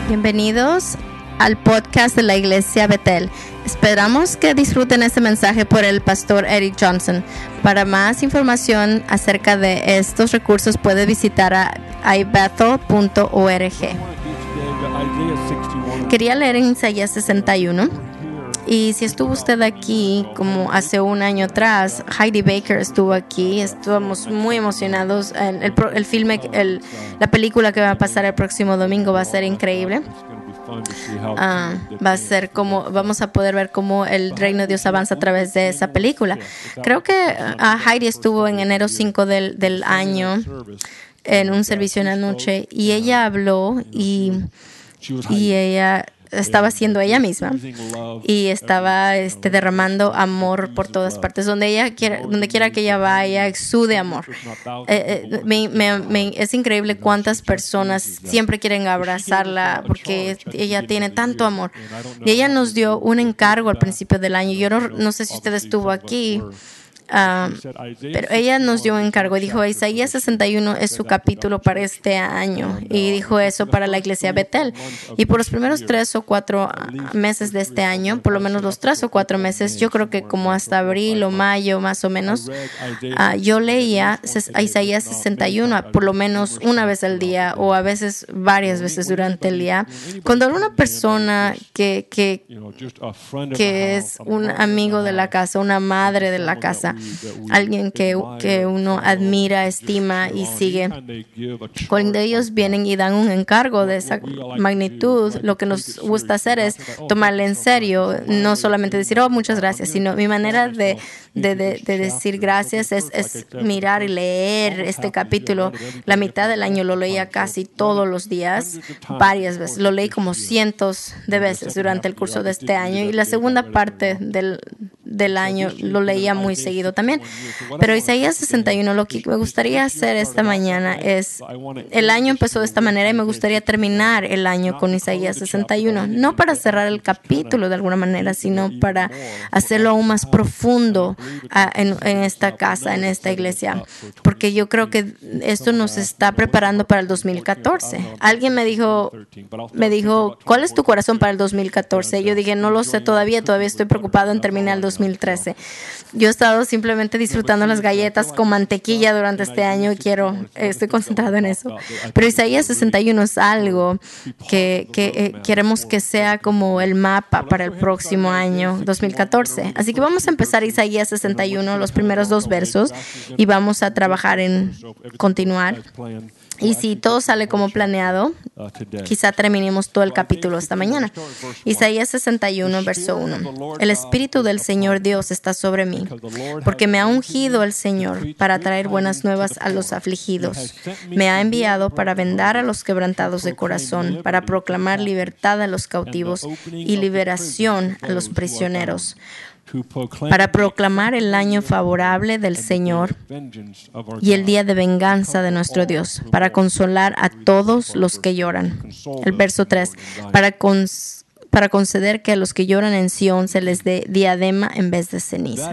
Bienvenidos al podcast de la Iglesia Betel. Esperamos que disfruten este mensaje por el pastor Eric Johnson. Para más información acerca de estos recursos puede visitar a ibethel.org. Quería leer en Isaías 61. Y si estuvo usted aquí como hace un año atrás, Heidi Baker estuvo aquí, estábamos muy emocionados. La película que va a pasar el próximo domingo va a ser increíble. Va a ser como vamos a poder ver cómo el reino de Dios avanza a través de esa película. Creo que Heidi estuvo en enero 5 del año en un servicio en la noche y ella habló y ella estaba siendo ella misma y estaba derramando amor por todas partes. Donde quiera que ella vaya, exude amor. Es increíble cuántas personas siempre quieren abrazarla porque ella tiene tanto amor. Y ella nos dio un encargo al principio del año. Yo no sé si usted estuvo aquí. Pero ella nos dio un encargo y dijo: Isaías 61 es su capítulo para este año, y dijo eso para la iglesia Betel. Y por los primeros 3 o 4 meses de este año, por lo menos los 3 o 4 meses, yo creo que como hasta abril o mayo más o menos, yo leía Isaías 61 por lo menos una vez al día, o a veces varias veces durante el día. Cuando una persona que es un amigo de la casa, una madre de la casa, alguien que uno admira, estima y sigue, cuando ellos vienen y dan un encargo de esa magnitud, lo que nos gusta hacer es tomarle en serio, no solamente decir muchas gracias, sino mi manera de decir gracias es mirar y leer este capítulo. La mitad del año lo leía casi todos los días, varias veces, lo leí como cientos de veces durante el curso de este año, y la segunda parte del año lo leía muy seguido también. Pero Isaías 61, lo que me gustaría hacer esta mañana es, el año empezó de esta manera y me gustaría terminar el año con Isaías 61, no para cerrar el capítulo de alguna manera, sino para hacerlo aún más profundo en esta casa, en esta iglesia, porque yo creo que esto nos está preparando para el 2014. Alguien me dijo, ¿cuál es tu corazón para el 2014? Yo dije, no lo sé todavía estoy preocupado en terminar el 2013. Yo he estado simplemente disfrutando las galletas con mantequilla durante este año y estoy concentrado en eso. Pero Isaías 61 es algo que queremos que sea como el mapa para el próximo año, 2014. Así que vamos a empezar Isaías 61, los primeros 2 versos, y vamos a trabajar en continuar. Y si todo sale como planeado, quizá terminemos todo el capítulo esta mañana. Isaías 61, verso 1. El Espíritu del Señor Dios está sobre mí, porque me ha ungido el Señor para traer buenas nuevas a los afligidos. Me ha enviado para vendar a los quebrantados de corazón, para proclamar libertad a los cautivos y liberación a los prisioneros, para proclamar el año favorable del Señor y el día de venganza de nuestro Dios, para consolar a todos los que lloran. El verso 3, para conceder que a los que lloran en Sión se les dé diadema en vez de ceniza.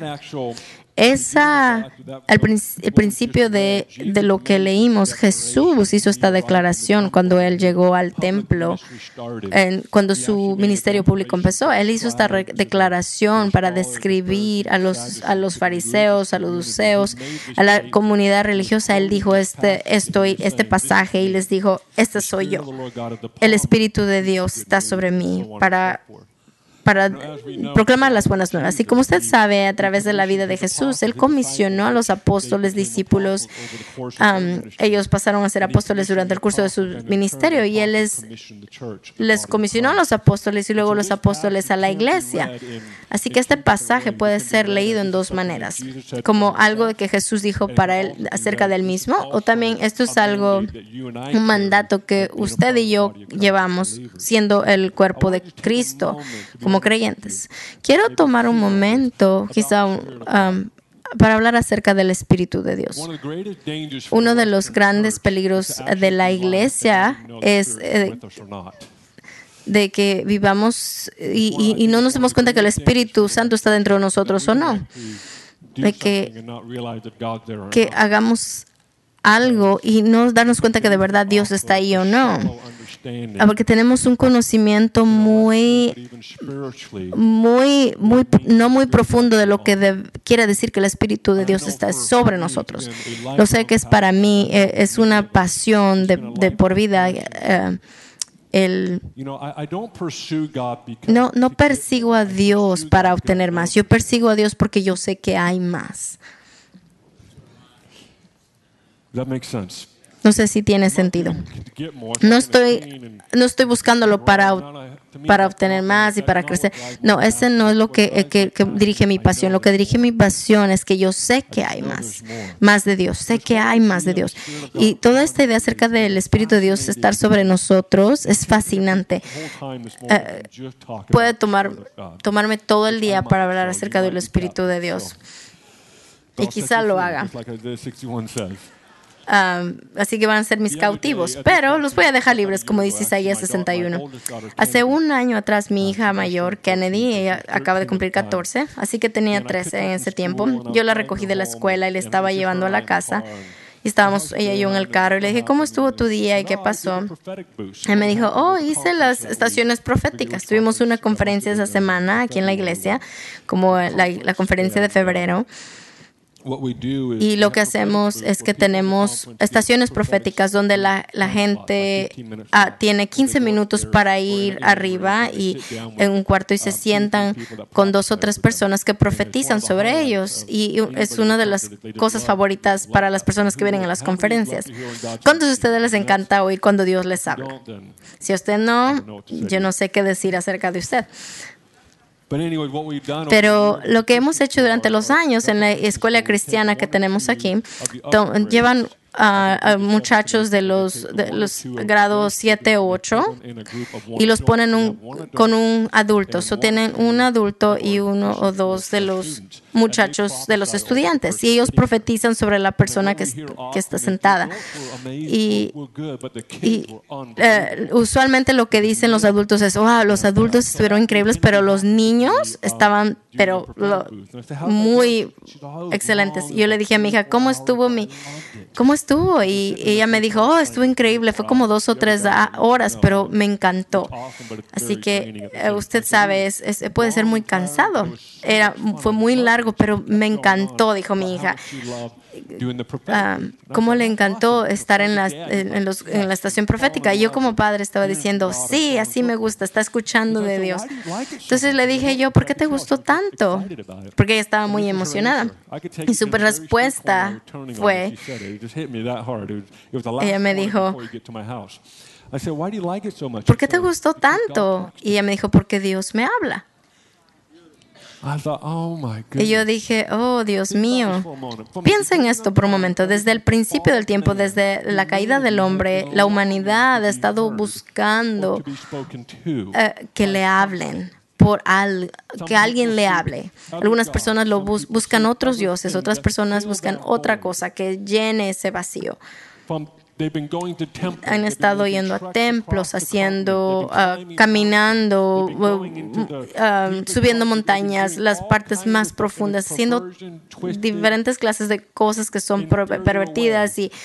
El principio de lo que leímos, Jesús hizo esta declaración cuando Él llegó al templo, cuando su ministerio público empezó. Él hizo esta declaración para describir a los fariseos, a los saduceos, a la comunidad religiosa. Él dijo este pasaje y les dijo: este soy yo. El Espíritu de Dios está sobre mí para proclamar las buenas nuevas. Y como usted sabe, a través de la vida de Jesús, Él comisionó a los apóstoles, discípulos. Ellos pasaron a ser apóstoles durante el curso de su ministerio, y Él les comisionó a los apóstoles y luego los apóstoles a la iglesia. Así que este pasaje puede ser leído en 2 maneras, como algo de que Jesús dijo para Él acerca del mismo, o también esto es un mandato que usted y yo llevamos siendo el cuerpo de Cristo como creyentes. Quiero tomar un momento, quizá para hablar acerca del Espíritu de Dios. Uno de los grandes peligros de la iglesia es de que vivamos y no nos demos cuenta que el Espíritu Santo está dentro de nosotros o no. De que hagamos algo y no darnos cuenta que de verdad Dios está ahí o no. porque tenemos un conocimiento no muy profundo de lo que quiere decir que el Espíritu de Dios está sobre nosotros. Lo sé que es para mí, es una pasión de por vida. No persigo a Dios para obtener más. Yo persigo a Dios porque yo sé que hay más. No sé si tiene sentido. No estoy buscándolo para obtener más y para crecer. No, ese no es lo que dirige mi pasión. Lo que dirige mi pasión es que yo sé que hay más de Dios. Sé que hay más de Dios. Y toda esta idea acerca del Espíritu de Dios estar sobre nosotros es fascinante. Puede tomarme todo el día para hablar acerca del Espíritu de Dios. Y quizá lo haga. Así que van a ser mis cautivos, pero los voy a dejar libres, como dice Isaías 61. Hace un año atrás, mi hija mayor, Kennedy, ella acaba de cumplir 14, así que tenía 13 en ese tiempo. Yo la recogí de la escuela y le estaba llevando a la casa. Y estábamos ella y yo en el carro y le dije, ¿cómo estuvo tu día y qué pasó? Él me dijo, hice las estaciones proféticas. Tuvimos una conferencia esa semana aquí en la iglesia, como la conferencia de febrero. Y lo que hacemos es que tenemos estaciones proféticas donde la gente tiene 15 minutos para ir arriba y en un cuarto y se sientan con 2 o 3 personas que profetizan sobre ellos. Y es una de las cosas favoritas para las personas que vienen a las conferencias. ¿Cuántos de ustedes les encanta oír cuando Dios les habla? Si a usted no, yo no sé qué decir acerca de usted. Pero lo que hemos hecho durante los años en la escuela cristiana que tenemos aquí, llevan a muchachos de los grados 7 o 8 y los ponen con un adulto. Tienen un adulto y 1 o 2 de los muchachos de los estudiantes y ellos profetizan sobre la persona que está sentada. Y usualmente lo que dicen los adultos es, los adultos estuvieron increíbles, pero los niños estaban muy excelentes. Y yo le dije a mi hija, ¿cómo estuvo? Y ella me dijo, estuvo increíble. Fue como 2 o 3 horas, pero me encantó. Así que usted sabe, puede ser muy cansado. Fue muy largo, pero me encantó, dijo mi hija. Cómo le encantó estar en la estación profética. Y yo como padre estaba diciendo, sí, así me gusta, está escuchando de Dios. Entonces le dije yo, ¿por qué te gustó tanto? Porque ella estaba muy emocionada. Y su respuesta fue, ella me dijo, ¿por qué te gustó tanto? Y ella me dijo, porque Dios me habla. Y yo dije, Dios mío. Piensa en esto por un momento. Desde el principio del tiempo, desde la caída del hombre, la humanidad ha estado buscando que le hablen, que alguien le hable. Algunas personas buscan otros dioses, otras personas buscan otra cosa que llene ese vacío. Han estado yendo a templos, caminando, subiendo montañas, las partes más profundas, haciendo diferentes clases de cosas que son pervertidas. Y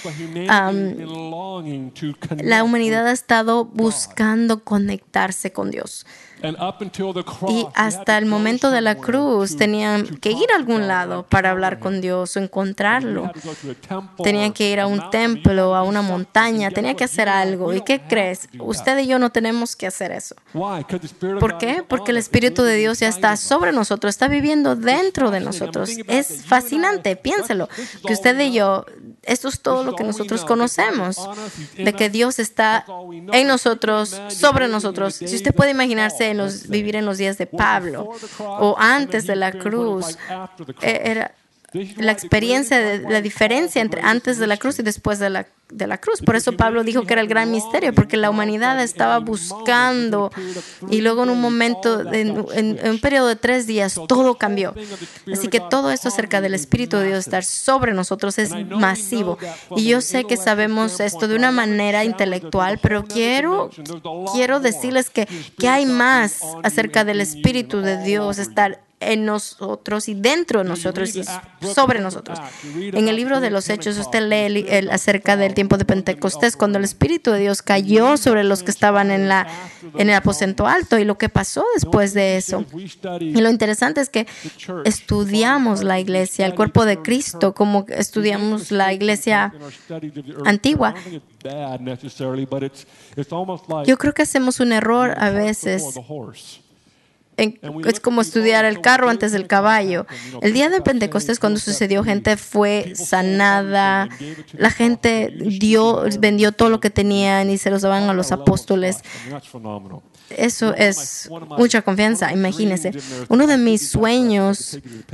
la humanidad ha estado buscando conectarse con Dios. Y hasta el momento de la cruz tenían que ir a algún lado para hablar con Dios o encontrarlo. Tenían que ir a un templo, a una montaña, tenían que hacer algo. ¿Y qué crees? Usted y yo no tenemos que hacer eso. ¿Por qué? Porque el Espíritu de Dios ya está sobre nosotros, está viviendo dentro de nosotros. Es fascinante, piénselo, que usted y yo, esto es todo lo que nosotros conocemos, de que Dios está en nosotros, sobre nosotros. Si usted puede imaginarse vivir en los días de Pablo o antes de la cruz, era la experiencia de la diferencia entre antes de la cruz y después de la cruz. Por eso Pablo dijo que era el gran misterio, porque la humanidad estaba buscando y luego en un momento, en un periodo de 3 días, todo cambió. Así que todo esto acerca del Espíritu de Dios estar sobre nosotros es masivo. Y yo sé que sabemos esto de una manera intelectual, pero quiero decirles que hay más acerca del Espíritu de Dios estar en nosotros y dentro de nosotros y sobre nosotros. En el libro de los Hechos usted lee acerca del tiempo de Pentecostés, cuando el Espíritu de Dios cayó sobre los que estaban en el aposento alto y lo que pasó después de eso. Y lo interesante es que estudiamos la iglesia, el cuerpo de Cristo, como estudiamos la iglesia antigua. Yo creo que hacemos un error a veces. Es como estudiar el carro antes del caballo. El día de Pentecostés, cuando sucedió, gente fue sanada, la gente vendió todo lo que tenían y se los daban a los apóstoles. Eso es mucha confianza, imagínense. Uno de mis sueños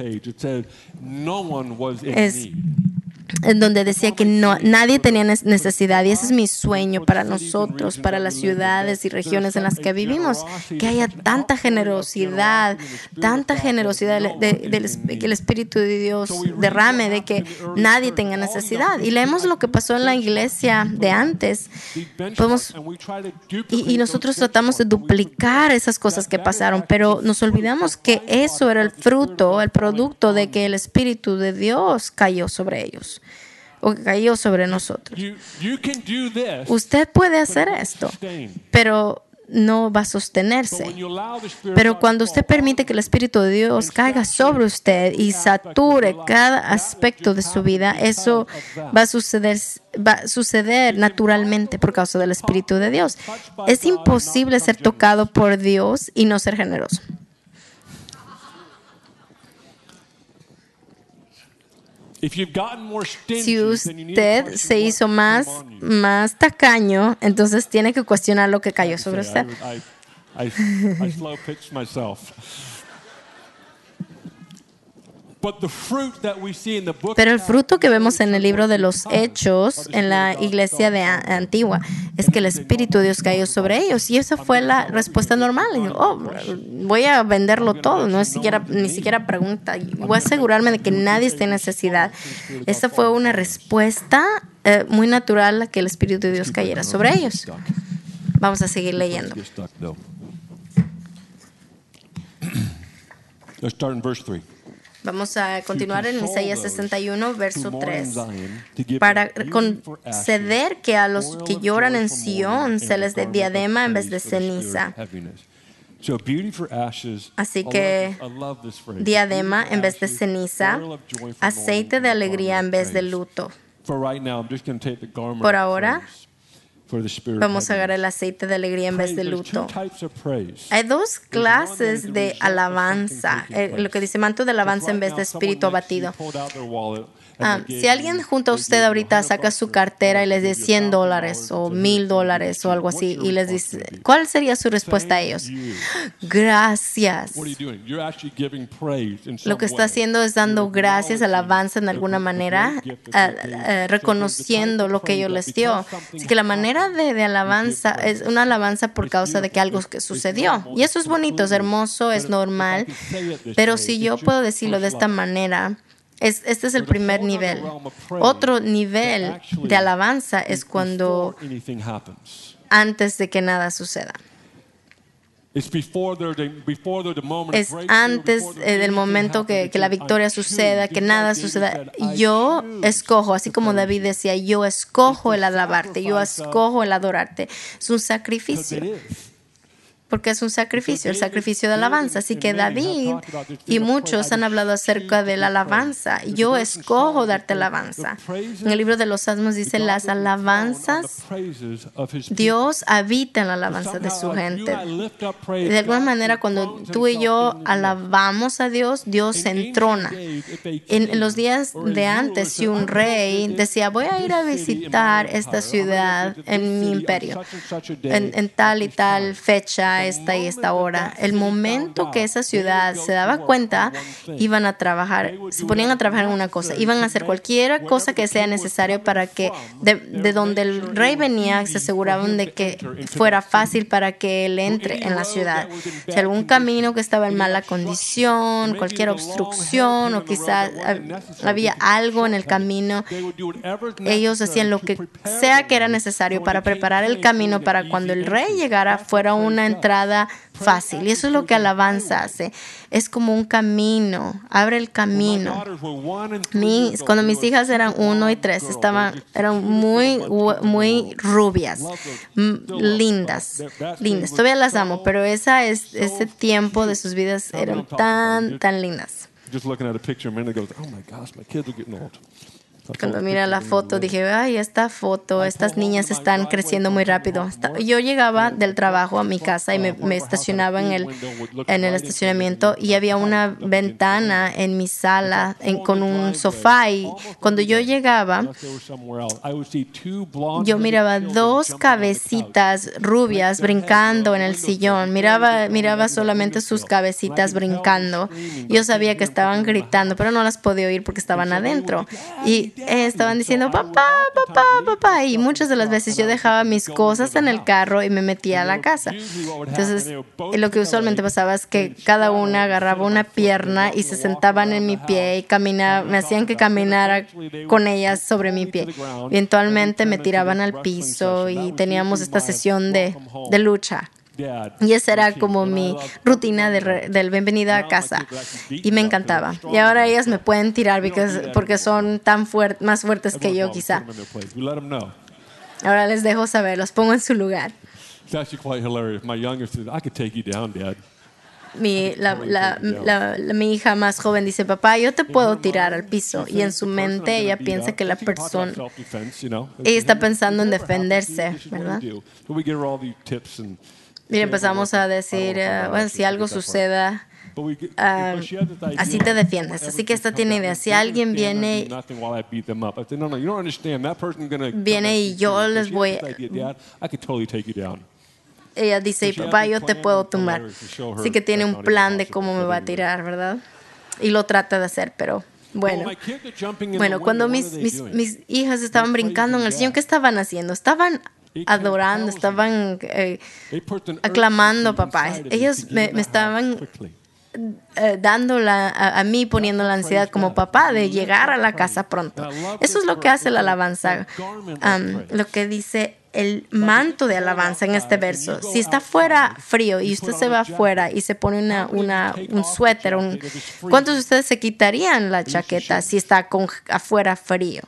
es en donde decía que nadie tenía necesidad, y ese es mi sueño para nosotros, para las ciudades y regiones en las que vivimos, que haya tanta generosidad que el Espíritu de Dios derrame, de que nadie tenga necesidad. Y leemos lo que pasó en la iglesia de antes, y nosotros tratamos de duplicar esas cosas que pasaron, pero nos olvidamos que eso era el producto de que el Espíritu de Dios cayó sobre ellos. O cayó sobre nosotros. Usted puede hacer esto, pero no va a sostenerse. Pero cuando usted permite que el Espíritu de Dios caiga sobre usted y sature cada aspecto de su vida, eso va a suceder naturalmente por causa del Espíritu de Dios. Es imposible ser tocado por Dios y no ser generoso. Si usted se hizo más tacaño, entonces tiene que cuestionar lo que cayó sobre usted. Pero el fruto que vemos en el libro de los Hechos, en la iglesia antigua, es que el Espíritu de Dios cayó sobre ellos. Y esa fue la respuesta normal. Voy a venderlo todo. No es ni siquiera pregunta. Voy a asegurarme de que nadie esté en necesidad. Esa fue una respuesta muy natural a que el Espíritu de Dios cayera sobre ellos. Vamos a seguir leyendo. Let's start in verse 3. Vamos a continuar en Isaías 61, verso 3. Para conceder que a los que lloran en Sión se les dé diadema en vez de ceniza. Así que diadema en vez de ceniza, aceite de alegría en vez de luto. Por ahora, vamos a agarrar el aceite de alegría en vez de luto. Hay dos clases de alabanza. Lo que dice manto de alabanza en vez de espíritu abatido. Si alguien junto a usted ahorita saca su cartera y les dice $100 o $1,000 o algo así y les dice, ¿cuál sería su respuesta a ellos? Gracias. Lo que está haciendo es dando gracias, alabanza en alguna manera, reconociendo lo que ellos les dio. Así que la manera de alabanza es una alabanza por causa de que algo que sucedió. Y eso es bonito, es hermoso, es normal. Pero si yo puedo decirlo de esta manera, este es el primer nivel. Otro nivel de alabanza es cuando antes de que nada suceda. Es antes del momento que la victoria suceda, que nada suceda. Yo escojo, así como David decía, yo escojo el alabarte, yo escojo el adorarte. Es un sacrificio. Porque es un sacrificio, el sacrificio de alabanza. Así que David y muchos han hablado acerca de la alabanza. Yo escojo darte alabanza. En el libro de los Salmos dice las alabanzas. Dios habita en la alabanza de su gente. De alguna manera, cuando tú y yo alabamos a Dios, Dios se entrona. En los días de antes, si un rey decía, voy a ir a visitar esta ciudad en mi imperio, en tal y tal fecha, esta y esta hora. El momento que esa ciudad se daba cuenta, iban a trabajar, se ponían a trabajar en una cosa, iban a hacer cualquier cosa que sea necesario para que de donde el rey venía se aseguraban de que fuera fácil para que él entre en la ciudad. Si algún camino que estaba en mala condición, cualquier obstrucción o quizás había algo en el camino, ellos hacían lo que sea que era necesario para preparar el camino para cuando el rey llegara fuera una entrada entrada fácil. Y eso es lo que alabanza hace. Es como un camino, abre el camino. Cuando mis hijas eran 1 y 3, eran muy rubias, lindas. Todavía las amo, pero ese tiempo de sus vidas eran tan lindas. Cuando mira la foto dije, ay, estas niñas están creciendo muy rápido. Yo llegaba del trabajo a mi casa y me estacionaba en el estacionamiento y había una ventana en mi sala con un sofá, y cuando yo llegaba yo miraba 2 cabecitas rubias brincando en el sillón. Miraba solamente sus cabecitas brincando. Yo sabía que estaban gritando, pero no las podía oír porque estaban adentro. Y estaban diciendo papá, papá, papá, y muchas de las veces yo dejaba mis cosas en el carro y me metía a la casa. Entonces lo que usualmente pasaba es que cada una agarraba una pierna y se sentaban en mi pie y me hacían que caminara con ellas sobre mi pie. Eventualmente me tiraban al piso y teníamos esta sesión de lucha. Y esa era como mi rutina del bienvenida a casa. Y me encantaba. Y ahora ellas me pueden tirar porque son más fuertes que yo, quizá. Ahora les dejo saber, los pongo en su lugar. Mi hija más joven dice, papá, yo te puedo tirar al piso. Y en su mente ella piensa que la persona, ella está pensando en defenderse, ¿verdad? Y empezamos a decir, si algo suceda, así te defiendes. Así que esta tiene idea. Si alguien viene y yo les voy... Ella dice, papá, yo te puedo tumbar. Así que tiene un plan de cómo me va a tirar, ¿verdad? Y lo trata de hacer, pero... Bueno, cuando mis hijas estaban brincando en el sillón, ¿qué estaban haciendo? Estaban adorando, estaban aclamando a papá. Ellos me estaban dando a mí, poniendo la ansiedad como papá de llegar a la casa pronto. Eso es lo que hace la alabanza. Lo que dice el manto de alabanza en este verso. Si está fuera frío y usted se va afuera y se pone un suéter, ¿cuántos de ustedes se quitarían la chaqueta si está afuera frío?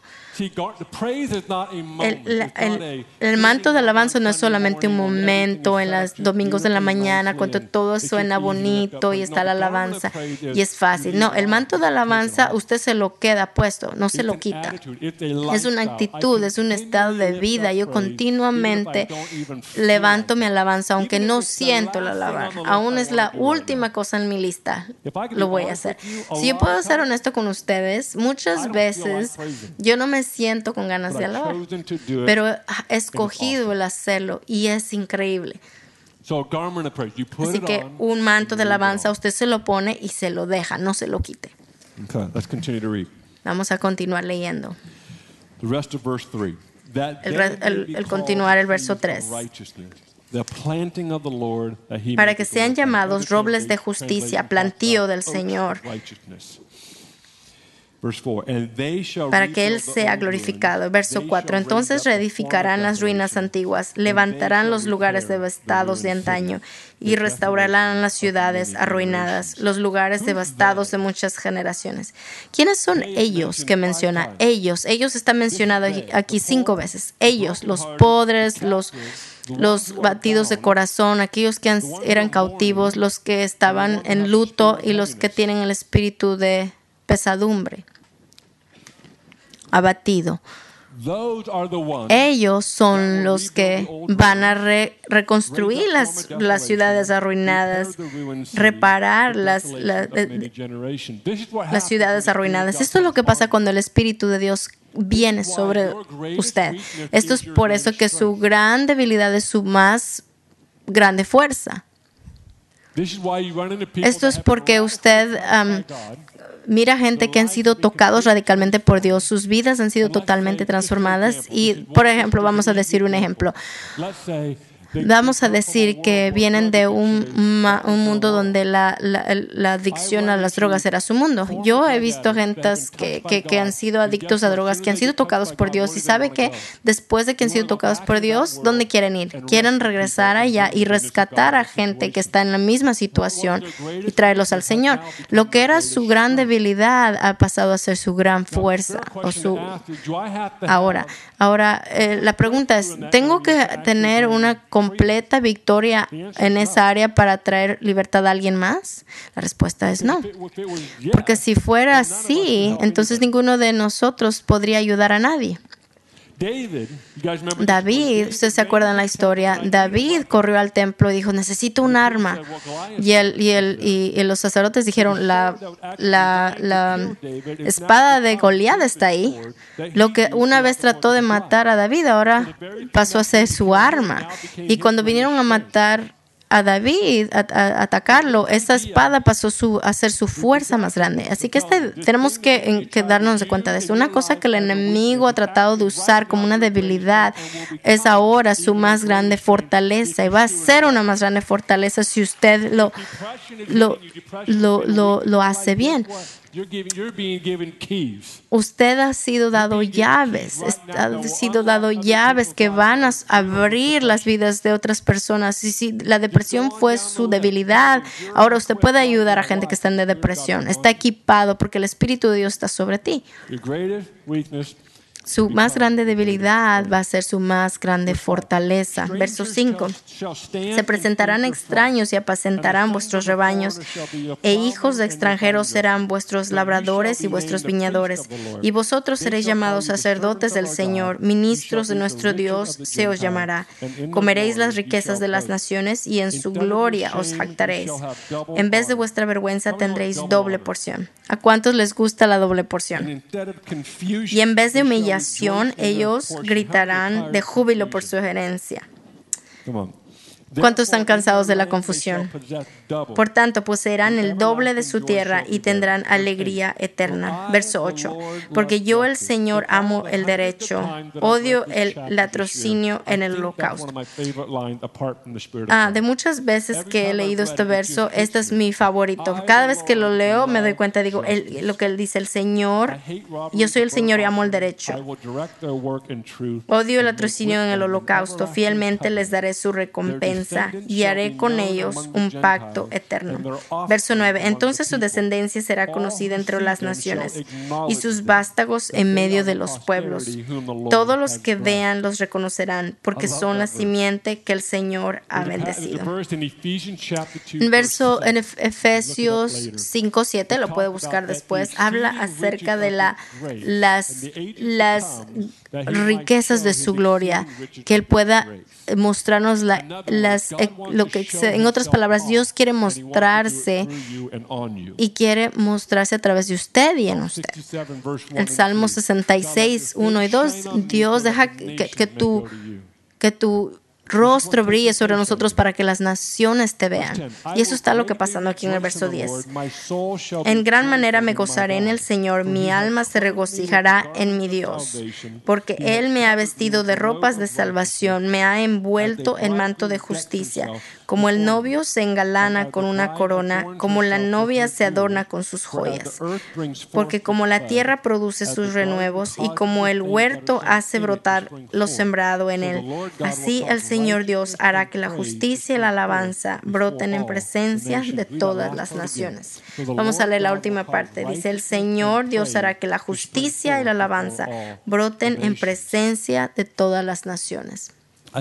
El manto de alabanza no es solamente un momento en los domingos de la mañana cuando todo suena bonito y está la alabanza y es fácil. No, el manto de alabanza usted se lo queda puesto, no se lo quita. Es una actitud, es un estado de vida. Yo continuamente levanto mi alabanza aunque no siento la alabanza. Aún es la última cosa en mi lista. Lo voy a hacer. Si yo puedo ser honesto con ustedes, muchas veces yo no me siento con ganas de alabar, pero he escogido el hacerlo y es increíble. Así que un manto de alabanza usted se lo pone y se lo deja, no se lo quite. Vamos a continuar leyendo. El continuar el verso 3. Para que sean llamados robles de justicia, plantío del Señor, para que Él sea glorificado. Verso 4. Entonces reedificarán las ruinas antiguas, levantarán los lugares devastados de antaño y restaurarán las ciudades arruinadas, los lugares devastados de muchas generaciones. ¿Quiénes son ellos que menciona? Ellos están mencionados aquí 5 veces. Ellos, los pobres, los batidos de corazón, aquellos que eran cautivos, los que estaban en luto y los que tienen el espíritu de pesadumbre, abatido. Ellos son los que van a reconstruir las ciudades arruinadas, reparar las ciudades arruinadas. Esto es lo que pasa cuando el Espíritu de Dios viene sobre usted. Esto es por eso que su gran debilidad es su más grande fuerza. Esto es porque usted mira gente que han sido tocados radicalmente por Dios. Sus vidas han sido totalmente transformadas. Y, por ejemplo, vamos a decir un ejemplo. vamos a decir que vienen de un mundo donde la adicción a las drogas era su mundo. Yo he visto gentes que han sido adictos a drogas, que han sido tocados por Dios, y sabe que después de que han sido tocados por Dios, ¿dónde quieren ir? Quieren regresar allá y rescatar a gente que está en la misma situación y traerlos al Señor. Lo que era su gran debilidad ha pasado a ser su gran fuerza. Ahora, la pregunta es, ¿tengo que tener una completa victoria en esa área para traer libertad a alguien más? La respuesta es no. Porque si fuera así, entonces ninguno de nosotros podría ayudar a nadie. David, ¿ustedes se acuerdan la historia? David corrió al templo y dijo, necesito un arma. Y los sacerdotes dijeron, la espada de Goliat está ahí. Lo que una vez trató de matar a David, ahora pasó a ser su arma. Y cuando vinieron a matar a David, a atacarlo, esa espada pasó a ser su fuerza más grande. Así que tenemos que darnos de cuenta de esto. Una cosa que el enemigo ha tratado de usar como una debilidad es ahora su más grande fortaleza, y va a ser una más grande fortaleza si usted lo hace bien. Usted ha sido dado llaves, que van a abrir las vidas de otras personas. Y si la depresión fue su debilidad, ahora usted puede ayudar a gente que está en depresión. Está equipado porque el Espíritu de Dios está sobre ti. Su más grande debilidad va a ser su más grande fortaleza. Verso 5. Se presentarán extraños y apacentarán vuestros rebaños, e hijos de extranjeros serán vuestros labradores y vuestros viñadores. Y vosotros seréis llamados sacerdotes del Señor, ministros de nuestro Dios se os llamará. Comeréis las riquezas de las naciones y en su gloria os jactaréis. En vez de vuestra vergüenza tendréis doble porción. ¿A cuántos les gusta la doble porción? Y en vez de humillación, ellos gritarán de júbilo por su herencia. ¿Cuántos están cansados de la confusión? Por tanto, poseerán el doble de su tierra y tendrán alegría eterna. Verso 8. Porque yo, el Señor, amo el derecho, odio el latrocinio en el holocausto. De muchas veces que he leído este verso, este es mi favorito. Cada vez que lo leo, me doy cuenta, digo, lo que él dice, el Señor, yo soy el Señor y amo el derecho. Odio el latrocinio en el holocausto. Fielmente les daré su recompensa y haré con ellos un pacto eterno. Verso 9. Entonces su descendencia será conocida entre las naciones y sus vástagos en medio de los pueblos. Todos los que vean los reconocerán, porque son la simiente que el Señor ha bendecido. En Efesios 5:7, lo puede buscar después, habla acerca de las riquezas de su gloria, que Él pueda mostrarnos lo que, en otras palabras, Dios quiere mostrarse y quiere mostrarse a través de usted y en usted. El Salmo 66, 1 y 2, Dios deja que tu rostro brille sobre nosotros para que las naciones te vean. Y eso está lo que pasando aquí en el verso 10. En gran manera me gozaré en el Señor, mi alma se regocijará en mi Dios, porque Él me ha vestido de ropas de salvación, me ha envuelto en manto de justicia. Como el novio se engalana con una corona, como la novia se adorna con sus joyas. Porque como la tierra produce sus renuevos y como el huerto hace brotar lo sembrado en él, así el Señor Dios hará que la justicia y la alabanza broten en presencia de todas las naciones. Vamos a leer la última parte. Dice, el Señor Dios hará que la justicia y la alabanza broten en presencia de todas las naciones.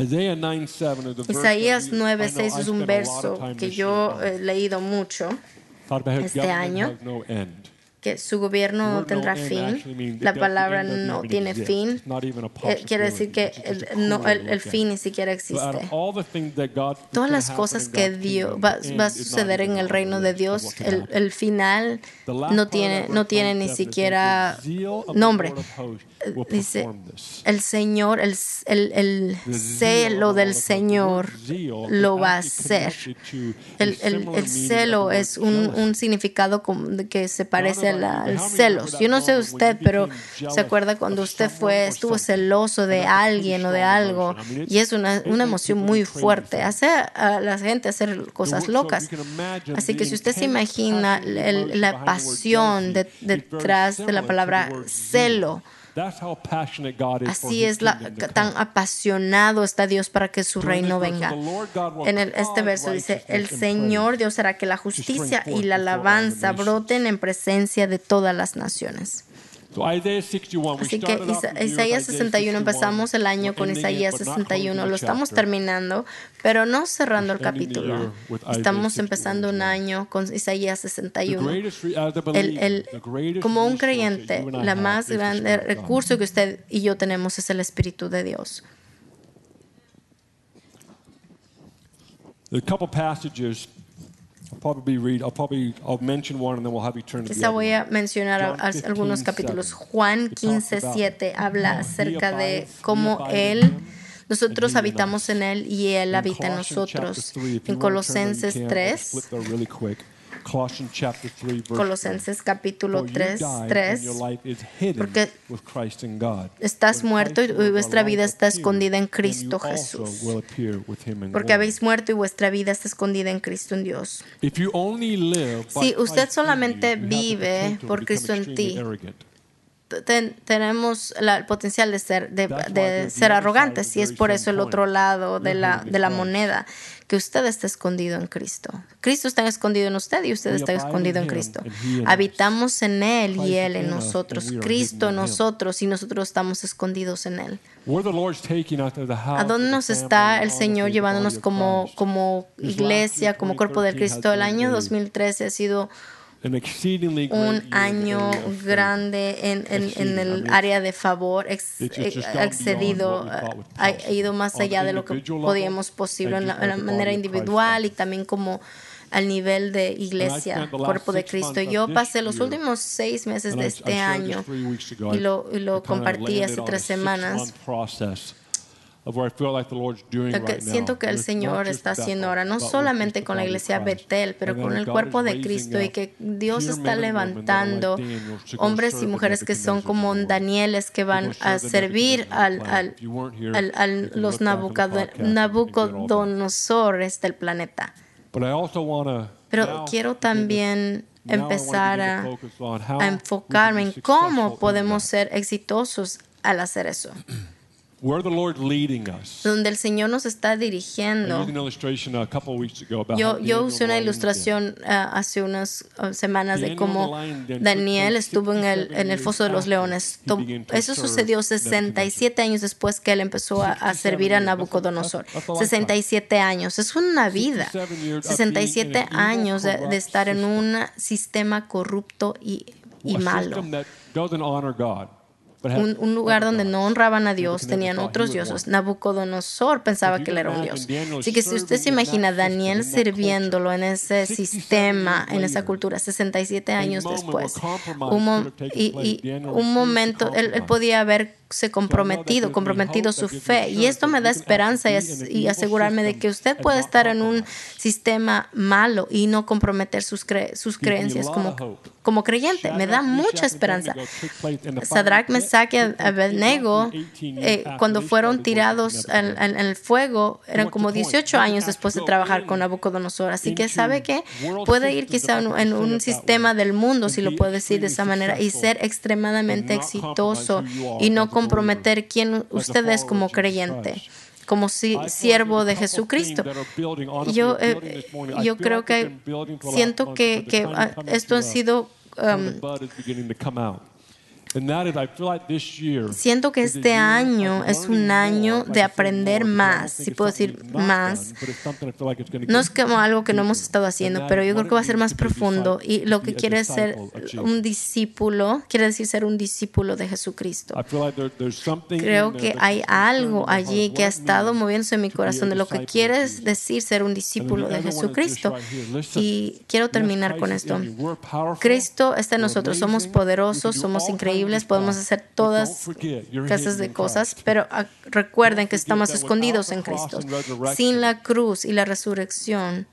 Isaías 9:6 es un verso que yo he leído mucho este año, que su gobierno no tendrá fin. La palabra no tiene fin. Quiere decir que el fin ni siquiera existe. Todas las cosas que Dios va a suceder en el reino de Dios, el final no tiene ni siquiera nombre. dice, el Señor, el celo del Señor lo va a hacer. El celo es un significado que se parece al celos. Yo no sé usted, pero se acuerda cuando usted estuvo celoso de alguien o de algo, y es una emoción muy fuerte. Hace a la gente hacer cosas locas. Así que si usted se imagina la pasión detrás de la palabra celo, así es tan apasionado está Dios para que su reino venga. En este verso dice, el Señor Dios hará que la justicia y la alabanza broten en presencia de todas las naciones. Así que Isaías 61, empezamos el año con Isaías 61, lo estamos terminando, pero no cerrando el capítulo. Estamos empezando un año con Isaías 61. Como un creyente, la más grande recurso que usted y yo tenemos es el Espíritu de Dios. Quizá voy a mencionar algunos capítulos. Juan 15:7 habla acerca de cómo nosotros habitamos en Él y Él habita en nosotros. En Colosenses 3, Colosenses capítulo 3, porque estás muerto y vuestra vida está escondida en Cristo Jesús. Porque habéis muerto y vuestra vida está escondida en Cristo en Dios. Si usted solamente vive por Cristo en ti, tenemos el potencial de ser arrogantes, y es por eso el otro lado de la moneda, que usted está escondido en Cristo. Cristo está escondido en usted y usted está escondido en Cristo. Habitamos en Él y Él en nosotros. Cristo en nosotros y nosotros estamos escondidos en Él. ¿A dónde nos está el Señor llevándonos como iglesia, como cuerpo de Cristo? El año 2013 ha sido un año grande en el área de favor, ha excedido, ha ido más allá de lo que podíamos posible en la manera individual y también como al nivel de iglesia, cuerpo de Cristo. Yo pasé los últimos 6 meses de este año y lo compartí hace 3 semanas. Lo que siento que el Señor está haciendo ahora, no solamente con la iglesia Betel, pero con el cuerpo de Cristo, y que Dios está levantando hombres y mujeres que son como Danieles, que van a servir a los Nabucodonosores del planeta. Pero quiero también empezar a enfocarme en cómo podemos ser exitosos al hacer eso. Donde el Señor nos está dirigiendo. Yo usé una ilustración hace unas semanas de cómo Daniel estuvo en el foso de los leones. Eso sucedió 67 años después que él empezó a servir a Nabucodonosor. 67 años, es una vida. 67 años de estar en un sistema corrupto y malo. Un lugar donde no honraban a Dios, tenían otros dioses. Nabucodonosor pensaba que él era un dios. Así que si usted se imagina a Daniel sirviéndolo en ese sistema, en esa cultura, 67 años después, un momento, él podía haberse comprometido su fe. Y esto me da esperanza y asegurarme de que usted puede estar en un sistema malo y no comprometer sus creencias como creyente. Me da mucha esperanza. Sadrach, Mesach y Abednego, cuando fueron tirados en el fuego, eran como 18 años después de trabajar con Nabucodonosor. Así que sabe que puede ir quizá en un sistema del mundo, si lo puedo decir de esa manera, y ser extremadamente exitoso y no comprometer quién usted es como creyente, como siervo de Jesucristo. Yo creo que siento que esto ha sido siento que este año es un año de aprender más, si puedo decir más. No es como algo que no hemos estado haciendo, pero yo creo que va a ser más profundo. Y lo que quiere ser un discípulo, quiere decir ser un discípulo de Jesucristo. Creo que hay algo allí que ha estado moviéndose en mi corazón de lo que quiere decir ser un discípulo de Jesucristo. Y quiero terminar con esto. Cristo está en nosotros, somos poderosos, somos increíbles, increíbles, podemos hacer todas clases de cosas, pero recuerden que estamos escondidos en Cristo. Sin la cruz y la resurrección,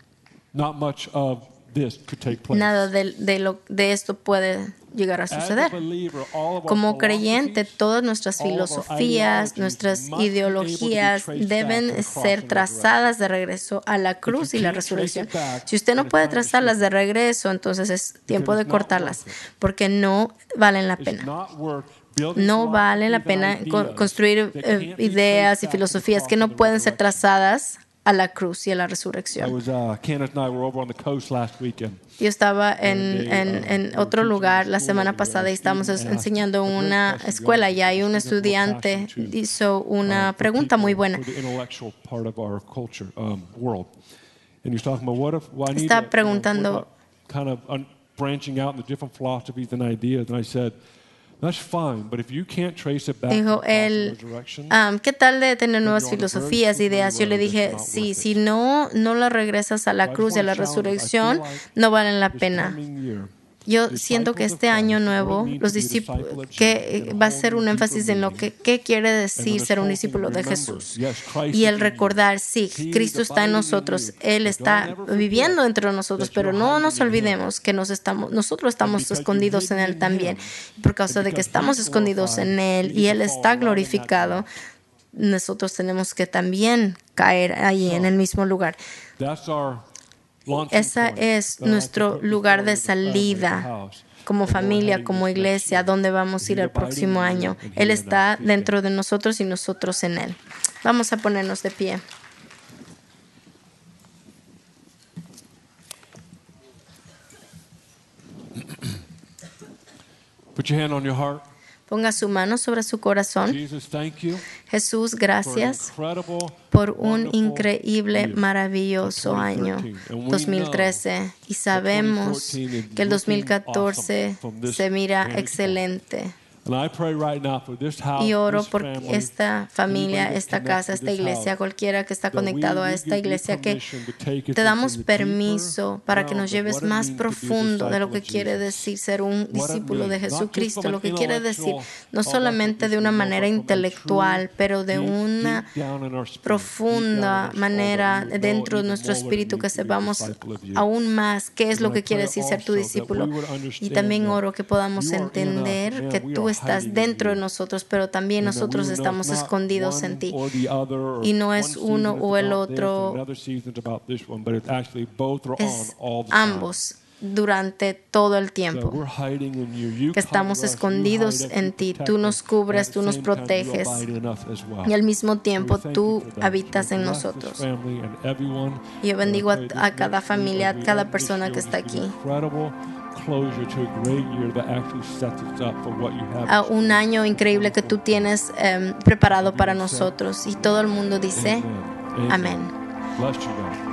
nada de esto puede llegar a suceder. Como creyente, todas nuestras filosofías, nuestras ideologías deben ser trazadas de regreso a la cruz y la resurrección. Si usted no puede trazarlas de regreso, entonces es tiempo de cortarlas, porque no valen la pena. No vale la pena construir ideas y filosofías que no pueden ser trazadas a la cruz y a la resurrección. Yo estaba en otro lugar la semana pasada y estábamos enseñando en una escuela y ahí un estudiante hizo una pregunta muy buena. Estaba preguntando, dijo él, ¿qué tal de tener nuevas filosofías, ideas? Yo le dije, sí, si no las regresas a la cruz y a la resurrección, no valen la pena. Yo siento que este año nuevo, los discípulos, que va a ser un énfasis en lo que qué quiere decir ser un discípulo de Jesús. Y el recordar, sí, Cristo está en nosotros, Él está viviendo entre nosotros, pero no nos olvidemos que nosotros estamos escondidos en Él también. Y por causa de que estamos escondidos en Él y Él está glorificado, nosotros tenemos que también caer ahí en el mismo lugar. Ese es nuestro lugar de salida como familia, como iglesia, donde vamos a ir el próximo año. Él está dentro de nosotros y nosotros en Él. Vamos a ponernos de pie. Put your hand on your heart. Ponga su mano sobre su corazón. Jesús, gracias por un increíble, maravilloso año 2013. Y sabemos que el 2014 se mira excelente. Y oro por esta familia, esta casa, esta iglesia, cualquiera que está conectado a esta iglesia, que te damos permiso para que nos lleves más profundo de lo que quiere decir ser un discípulo de Jesucristo, lo que quiere decir no solamente de una manera intelectual, pero de una profunda manera dentro de nuestro espíritu, que sepamos aún más qué es lo que quiere decir ser tu discípulo. Y también oro que podamos entender que tú estás dentro de nosotros, pero también nosotros estamos escondidos en ti. Y no es uno o el otro, es ambos durante todo el tiempo. Que estamos escondidos en ti. Tú nos cubres, tú nos proteges. Y al mismo tiempo tú habitas en nosotros. Y yo bendigo a cada familia, a cada persona que está aquí. A un año increíble que tú tienes preparado para nosotros. Y todo el mundo dice amén.